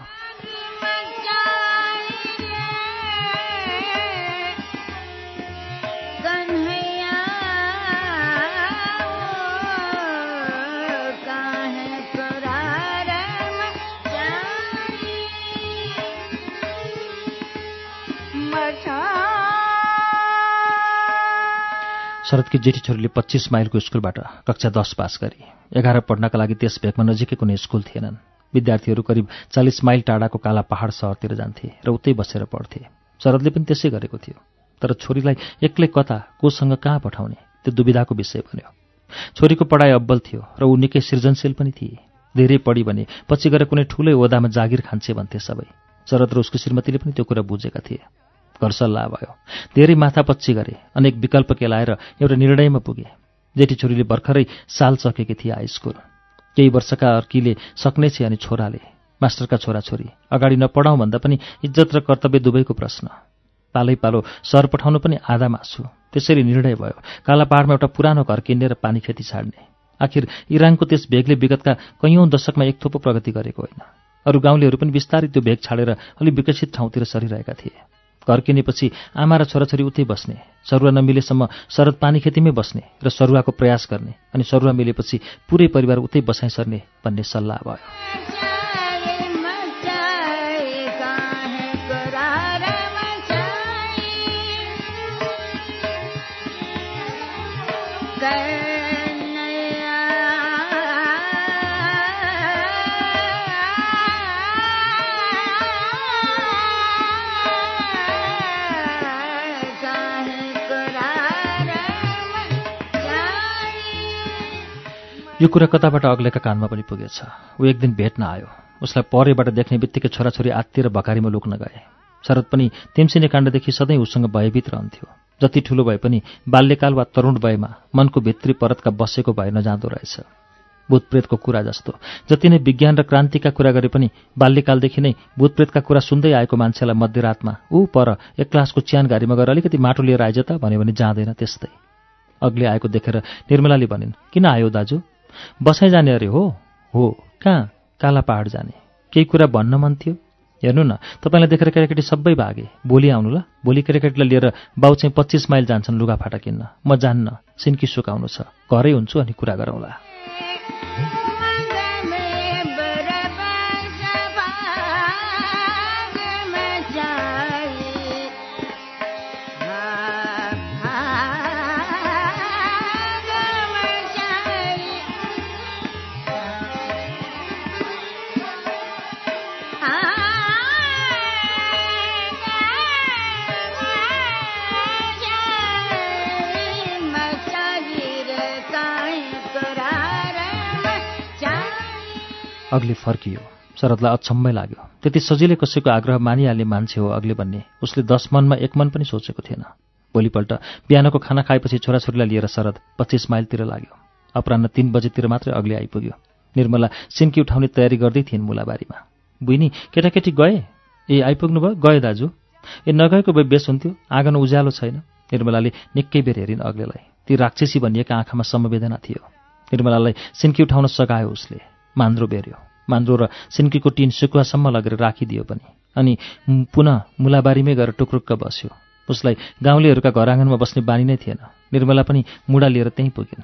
शरदकी जेठी छोरीले पच्चीस माइलको स्कुलबाट कक्षा दस पास गरी। एघार पढ्नका लागि त्यस भेगमा नजिकै कुनै स्कुल थिएनन्। विद्यार्थीहरू करिब चालिस माइल टाढाको काला पहाड सहरतिर जान्थे र उतै बसेर पढ्थे। शरदले पनि त्यसै गरेको थियो। तर छोरीलाई एक्लै कता, कोसँग कहाँ पठाउने, त्यो दुविधाको विषय बन्यो। छोरीको पढाइ अब्बल थियो र ऊ निकै सृजनशील पनि थिए। धेरै पढी भने पछि गएर कुनै ठुलै ओदामा जागिर खान्छे भन्थे सबै। शरद र उसको श्रीमतीले पनि त्यो कुरा बुझेका थिए। घर सल्लाह भयो, धेरै माथापच्ची गरे, अनेक विकल्प केलाएर एउटा निर्णयमा पुगे। जेठी छोरीले भर्खरै साल सकेकी थिए हाई स्कुल। केही वर्षका अर्कीले सक्ने छे अनि छोराले, मास्टरका छोराछोरी, अगाडि नपढाउँ भन्दा पनि इज्जत र कर्तव्य दुवैको प्रश्न। पालै पालो सहर पठाउनु पनि आधा मासु। त्यसरी निर्णय भयो काला पहाडमा एउटा पुरानो घर किन्ने र पानी खेती छाड्ने। आखिर इरानको त्यस भेगले विगतका कैयौँ दशकमा एक थोपो प्रगति गरेको होइन। अरू गाउँलेहरू पनि बिस्तारै त्यो भेग छाडेर अलि विकसित ठाउँतिर सरिरहेका थिए। घर किनेपछि आमा र छोराछोरी उतै बस्ने, सरुवा नमिलेसम्म शरद पानी खेतीमै बस्ने र सरुवाको प्रयास गर्ने, अनि सरुवा मिलेपछि पुरै परिवार उतै बसाइ सर्ने भन्ने सल्लाह भयो। यो कुरा कताबाट अग्लेका कानमा पनि पुगेछ। ऊ एक दिन भेट्न आयो। उसलाई परेबाट देख्ने बित्तिकै छोराछोरी आत्तिर भकारीमा लुक्न गए। शरद पनि तेम्सिने काण्डदेखि सधैँ उसँग भयभीत रहन्थ्यो। जति ठुलो भए पनि बाल्यकाल वा तरुण वयमा मनको भित्री परतका बसेको भए नजाँदो रहेछ। भूतप्रेतको कुरा जस्तो जति नै विज्ञान र क्रान्तिका कुरा गरे पनि बाल्यकालदेखि नै भूतप्रेतका कुरा सुन्दै आएको मान्छेलाई मध्यरातमा ऊ पर एक क्लासको च्यानघारीमा गएर अलिकति माटो लिएर आइज त भन्यो भने जाँदैन। त्यस्तै अग्ले आएको देखेर निर्मलाले भनिन्, किन आयो दाजु? बसाइ जाने अरे हो? हो, कहाँ? काला पहाड जाने। केही कुरा भन्न मन थियो? हेर्नु न, तपाईँलाई देखेर केटाकेटी सबै भागे। भोलि आउनु ल। भोलि केटाकेटीलाई लिएर बाउ चाहिँ पच्चिस माइल जान्छन् लुगाफाटा किन्न। म जान्न, सिन्की सुकाउनु छ। घरै हुन्छु अनि कुरा गरौँला। अग्ले फर्कियो। शरदलाई अचम्मै लाग्यो। त्यति सजिलै कसैको आग्रह मानिहाल्ने मान्छे हो अग्ले भन्ने उसले दस मनमा एक मन पनि सोचेको थिएन। भोलिपल्ट बिहानको खाना खाएपछि छोराछोरीलाई लिएर शरद पच्चिस माइलतिर लाग्यो। अपराह्न तीन बजेतिर मात्रै अग्ले आइपुग्यो। निर्मला सिन्की उठाउने तयारी गर्दै थिइन् मुलाबारीमा। बुइनी, केटाकेटी गए? ए, आइपुग्नु भयो? गए दाजु। ए, नगएको भए बेस हुन्थ्यो, आँगन उज्यालो छैन। निर्मलाले निकै बेर हेरिन् अग्लेलाई। ती राक्षसी भनिएका आँखामा समवेदना थियो। निर्मलालाई सिन्की उठाउन सघायो उसले। मान्द्रो बेर्यो। मान्द्रो र सिन्कीको टिन सुकुवासम्म लगेर राखिदियो पनि। अनि पुनः मुलाबारीमै गएर टुक्रुक्क बस्यो। उसलाई गाउँलेहरूका घर आँगनमा बस्ने बानी नै थिएन। निर्मला पनि मुढा लिएर त्यहीँ पुगिन्।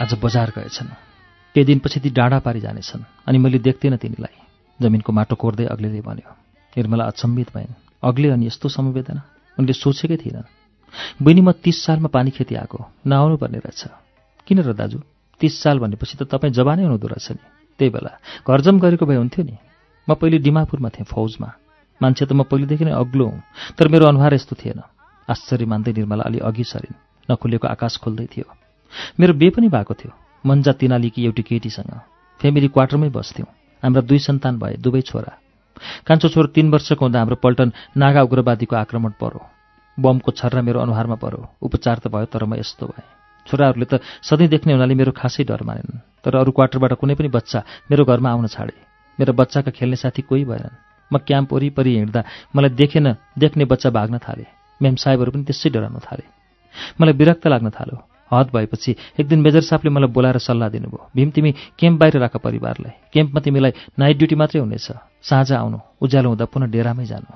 आज बजार गएछन्। केही दिनपछि ती डाँडा पारी जानेछन् अनि मैले देख्दिनँ तिनीलाई। जमिनको माटो कोर्दै अग्लेले भन्यो। निर्मला अचम्मित भइन्। अग्ले अनि यस्तो समवेदना उनले सोचेकै थिएनन्। बहिनी, म तीस सालमा पानी खेती आएको, नआउनु पर्ने रहेछ। किन र दाजु? तीस साल भनेपछि त तपाईँ जवानै हुनुहुँदो रहेछ नि। त्यही बेला घरजम गरेको भए हुन्थ्यो नि। म पहिले डिमापुरमा थिएँ, फौजमा। मान्छे त म पहिलेदेखि नै अग्लो हुँ, तर मेरो अनुहार यस्तो थिएन। आश्चर्य मान्दै निर्मला अलि अघि सरिन्। नखुलेको आकाश खोल्दै थियो। मेरो बिहे पनि भएको थियो, मन्जा तिनालीकी एउटी केटीसँग। फेमिली क्वार्टरमै बस्थ्यौँ। हाम्रा दुई सन्तान भए, दुवै छोरा। कान्छो छोरो तीन वर्षको हुँदा हाम्रो पल्टन नागा उग्रवादीको आक्रमण पर्यो। बमको छर्रा मेरो अनुहारमा पर्यो। उपचार त भयो, तर म यस्तो भएँ। छोराहरूले त सधैँ देख्ने हुनाले मेरो खासै डर मानेनन्, तर अरू क्वार्टरबाट कुनै पनि बच्चा मेरो घरमा आउन छाडे। मेरो बच्चाका खेल्ने साथी कोही भएनन्। म क्याम्प वरिपरि हिँड्दा मलाई देखेन देख्ने बच्चा भाग्न थाले। मेम साहेबहरू पनि त्यसै डराउन थाले। मलाई विरक्त लाग्न थाल्यो। हद भएपछि एक दिन मेजर साहबले मलाई बोलाएर सल्लाह दिनुभयो। भीम, तिमी क्याम्प बाहिर राख परिवारलाई। क्याम्पमा तिमीलाई नाइट ड्युटी मात्रै हुनेछ। साँझ आउनु, उज्यालो हुँदा पुनः डेरामै जानु।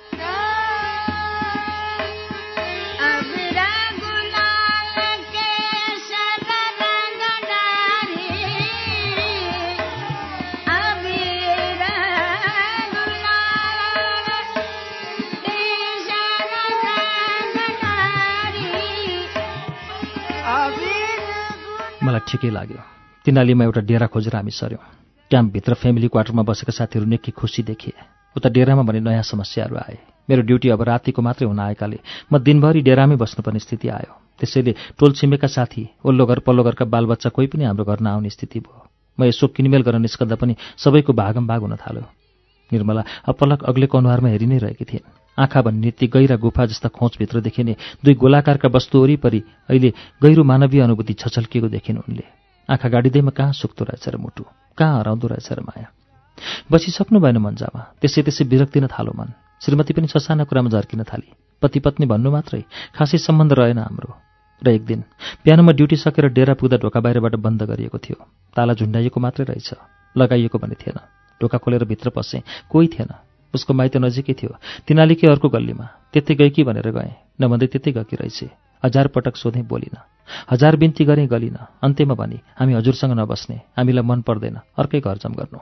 मलाई ठिकै लाग्यो। तिनीलीमा एउटा डेरा खोजेर हामी सर्यौँ। क्याम्पभित्र फेमिली क्वार्टरमा बसेका साथीहरू निकै खुसी देखिए। उता डेरामा भने नयाँ समस्याहरू आए। मेरो ड्युटी अब रातिको मात्रै हुन आएकाले म दिनभरि डेरामै बस्नुपर्ने स्थिति आयो। त्यसैले टोल छिमेका साथी, ओल्लो घर पल्लो घरका बालबच्चा कोही पनि हाम्रो घर नआउने स्थिति भयो। म यसो किनमेल गर्न निस्कँदा पनि सबैको भागम भाग हुन थाल्यो। निर्मला अपलक अग्लेको अनुहारमा हेरि नै रहेकी थिइन्। आँखा भन्ने ती गहिरा गुफा जस्ता खोचभित्र देखिने दुई गोलाकारका वस्तु वरिपरि अहिले गहिरो मानवीय अनुभूति छचल्किएको देखिन् उनले। आँखा गाडिँदैमा कहाँ सुक्दो रहेछ र मुटु, कहाँ हराउँदो रहेछ र माया। बसिसक्नु भएन मन्जामा। त्यसै त्यसै विरक्तिन थालो मन। श्रीमती पनि ससाना कुरामा झर्किन थाली। पति पत्नी भन्नु मात्रै, खासै सम्बन्ध रहेन हाम्रो। र एक दिन बिहानमा ड्युटी सकेर डेरा पुग्दा ढोका बाहिरबाट बन्द गरिएको थियो। ताला झुन्डाइएको मात्रै रहेछ, लगाइएको भने थिएन। ढोका खोलेर भित्र पसेँ, कोही थिएन। उसको माइत नजिकै थियो, तिनालीकै अर्को गल्लीमा। त्यतै गएकी भनेर गएँ, नभन्दै त्यतै गएकी रहेछ। हजार पटक सोधेँ, बोलिन। हजार बिन्ती गरेँ, गलिन। अन्त्यमा भने, हामी हजुरसँग नबस्ने, हामीलाई मन पर्दैन, अर्कै घर जम गर्नु।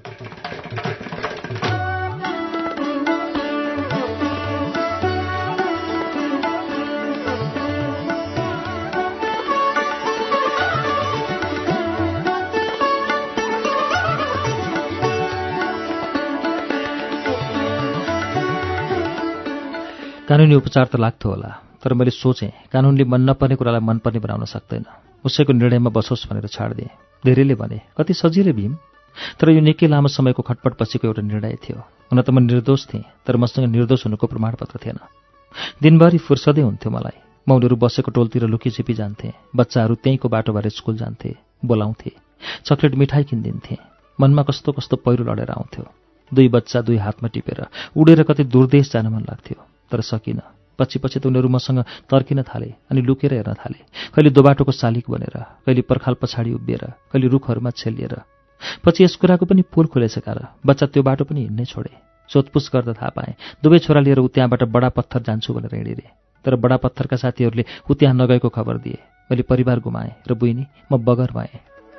कानुनी उपचार त लाग्थ्यो होला, तर मैले सोचेँ कानुनले मन नपर्ने कुरालाई मनपर्ने बनाउन सक्दैन। उसैको निर्णयमा बसोस् भनेर छाडिदिएँ। धेरैले भने, कति सजिलै भीम। तर यो निकै लामो समयको खटपट पछिको एउटा निर्णय थियो। हुन त म निर्दोष थिएँ, तर मसँग निर्दोष हुनुको प्रमाणपत्र थिएन। दिनभरि फुर्सदै हुन्थ्यो मलाई। म उनीहरू बसेको टोलतिर लुकीछिपी जान्थेँ। बच्चाहरू त्यहीँको बाटो भएर स्कुल जान्थे, बोलाउँथे। चक्लेट मिठाई किनिदिन्थे। मनमा कस्तो कस्तो पहिरो लडेर आउँथ्यो। दुई बच्चा दुई हातमा टिपेर उडेर कतै दूरदेश जान मन लाग्थ्यो, तर सकिन। पछि पछि त उनीहरू मसँग तर्किन थाले अनि लुकेर हेर्न थाले। कहिले दोबाटोको शालिक बनेर, कहिले पर्खाल पछाडि उभिएर, कहिले रुखहरूमा छेलिएर। पछि यस कुराको पनि पोल खुलेछ कार बच्चा त्यो बाटो पनि हिँड्नै छोडे। सोधपुछ गर्दा थाहा पाएँ दुवै छोरा लिएर उ त्यहाँबाट बडा पत्थर जान्छु भनेर हिँडिरे। तर बडा पत्थरका साथीहरूले उ त्यहाँ नगएको खबर दिए। मैले परिवार गुमाएँ र बुइनी म बगर भएँ।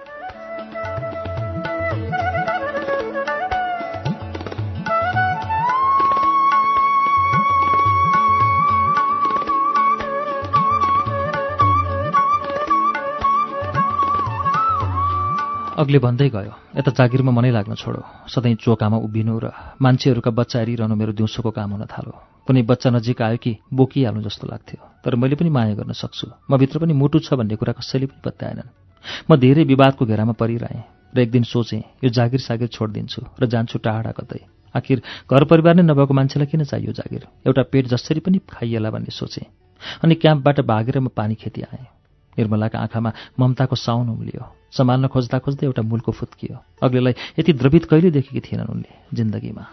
अग्ले भन्दै गयो, यता जागिरमा मनै लाग्न छोडो। सधैँ चोकामा उभिनु र मान्छेहरूका बच्चा हेरिरहनु मेरो दिउँसोको काम हुन थाल्यो। कुनै बच्चा नजिक आयो कि बोकिहाल्नु जस्तो लाग्थ्यो। तर मैले पनि माया गर्न सक्छु, म भित्र पनि मुटु छ भन्ने कुरा कसैले पनि बताएनन्। म धेरै विवादको घेरामा परिरहेँ र एक दिन सोचेँ यो जागिर सागिर छोडिदिन्छु र जान्छु टाढा कतै। आखिर घर परिवार नै नभएको मान्छेलाई किन चाहियो जागिर? एउटा पेट जसरी पनि खाइएला भन्ने सोचेँ। अनि क्याम्पबाट भागेर म पानी खेती आएँ। निर्मलाका आँखामा ममताको साउन उम्लियो। सम्हाल्न खोज्दा खोज्दै एउटा मूलको फुत्कियो। अग्लेलाई यति द्रवित कहिले देखेकी थिएनन् उनले जिन्दगीमा।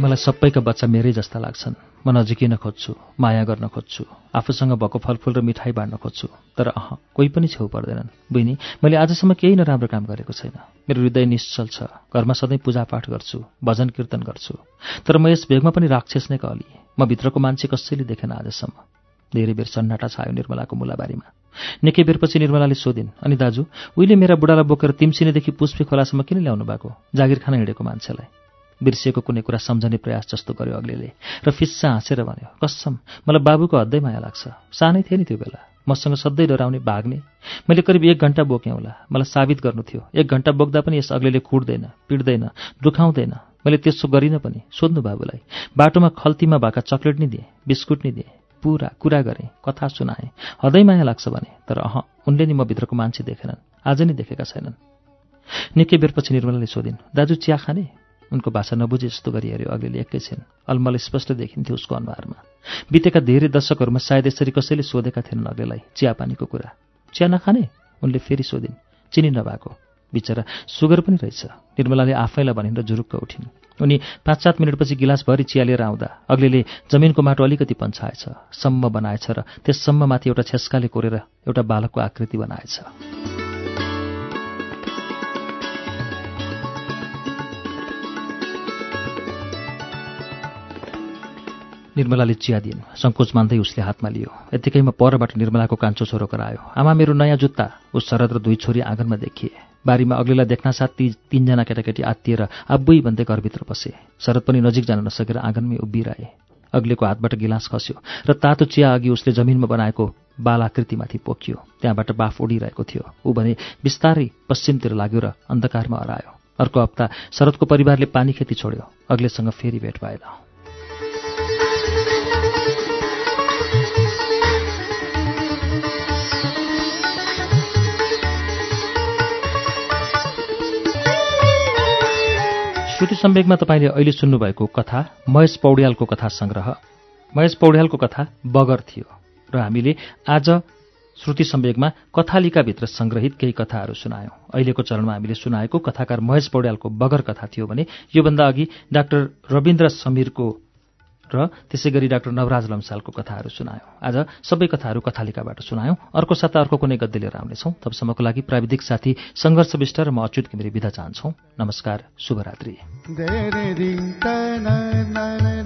मलाई सबैका बच्चा मेरै जस्ता लाग्छन्। म नजिकिन खोज्छु, माया गर्न खोज्छु, आफूसँग भएको फलफुल र मिठाई बाँड्न खोज्छु, तर अह कोही पनि छेउ पर्दैनन्। बहिनी, मैले आजसम्म केही नराम्रो काम गरेको छैन। मेरो हृदय निश्चल छ। घरमा सधैँ पूजापाठ गर्छु, भजन कीर्तन गर्छु, तर म यस भेगमा पनि राक्षस नै कहलिएँ। म भित्रको मान्छे कसैले देखेन आजसम्म। धेरै बेर सन्नाटा छायो निर्मलाको मुलाबारीमा। निकै बेरपछि निर्मलाले सोधिन्, अनि दाजु, उहिले मेरा बुढालाई बोकेर तिमसिनेदेखि पुष्पे खोलासम्म किन ल्याउनु भएको? जागिर खान हिँडेको मान्छेलाई। बिर्सिएको कुनै कुरा सम्झने प्रयास जस्तो गर्यो अग्लेले र फिस्सा हाँसेर भन्यो, कसम मलाई बाबुको हद्दै माया लाग्छ। सानै थिएँ नि त्यो बेला, मसँग सधैँ डराउने, भाग्ने। मैले करिब एक घन्टा बोकेँ होला। मलाई साबित गर्नु थियो। एक घन्टा बोक्दा पनि यस अग्लेले कुट्दैन, पिट्दैन, दुखाउँदैन। मैले त्यसो गरिनँ पनि। सोध्नु बाबुलाई। बाटोमा खल्तीमा भएका चक्लेट नि दिएँ, बिस्कुट नि दिएँ, पुरा कुरा गरेँ, कथा सुनाएँ। हदै माया लाग्छ भने, तर अह उनले नि म भित्रको मान्छे देखेनन्, आज नि देखेका छैनन्। निकै बेरपछि निर्मलाले सोधिन्, दाजु चिया खाने? उनको भाषा नबुझे जस्तो गरी हेऱ्यो अग्लेले एकैछिन। अलमल स्पष्ट देखिन्थ्यो उसको अनुहारमा। बितेका धेरै दशकहरूमा सायद यसरी कसैले सोधेका थिएनन् अग्लेलाई चियापानीको कुरा। चिया नखाने? उनले फेरि सोधिन्। चिनी नभएको। बिचरा सुगर पनि रहेछ। निर्मलाले आफैलाई भनिन् र जुरुक्क उठिन्। उनी पाँच सात मिनटपछि गिलासभरि चिया लिएर आउँदा अग्लेले जमिनको माटो अलिकति पन्छाएछ, सम्म बनाएछ र त्यस सम्ममाथि एउटा छेस्काले कोरेर एउटा बालकको आकृति बनाएछ। निर्मलाले चिया दिइन्। सङ्कोच मान्दै उसले हातमा लियो। यत्तिकैमा परबाट निर्मलाको कान्छो छोरो करायो, आमा मेरो नयाँ जुत्ता। उस शरद र दुई छोरी आँगनमा देखिए। बारीमा अग्लेलाई देख्नासाथ ती तीनजना केटाकेटी आत्तिएर आब्बुई भन्दै घरभित्र पसे। शरद पनि नजिक जान नसकेर आँगनमै उभिरहे। अग्लेको हातबाट गिलास खस्यो र तातो चिया अघि उसले जमिनमा बनाएको बालाकृतिमाथि पोखियो। त्यहाँबाट बाफ उडिरहेको थियो। ऊ भने बिस्तारै पश्चिमतिर लाग्यो र अन्धकारमा हरायो। अर्को हप्ता शरदको परिवारले पानी खेती छोड्यो। अग्लेसँग फेरि भेट भएन। श्रुति सम्वेकमा तपाईँले अहिले सुन्नुभएको कथा महेश पौड्यालको कथा सङ्ग्रह महेश पौड्यालको कथा बगर थियो र हामीले आज श्रुति सम्वेकमा कथालिकाभित्र सङ्ग्रहित केही कथाहरू सुनायौँ। अहिलेको चरणमा हामीले सुनाएको कथाकार महेश पौड्यालको बगर कथा थियो भने योभन्दा अघि डाक्टर रविन्द्र समीरको र त्यसै गरी डाक्टर नवराज लम्सालको कथाहरू सुनायौँ। आज सबै कथाहरू कथालिकाबाट सुनायौँ। अर्को साता अर्को कुनै गद्य लिएर आउनेछौँ। तबसम्मको लागि प्राविधिक साथी सङ्घर्ष विष्ट र म अच्युत घिमिरे बिदा चाहन्छौँ। नमस्कार, शुभरात्रि।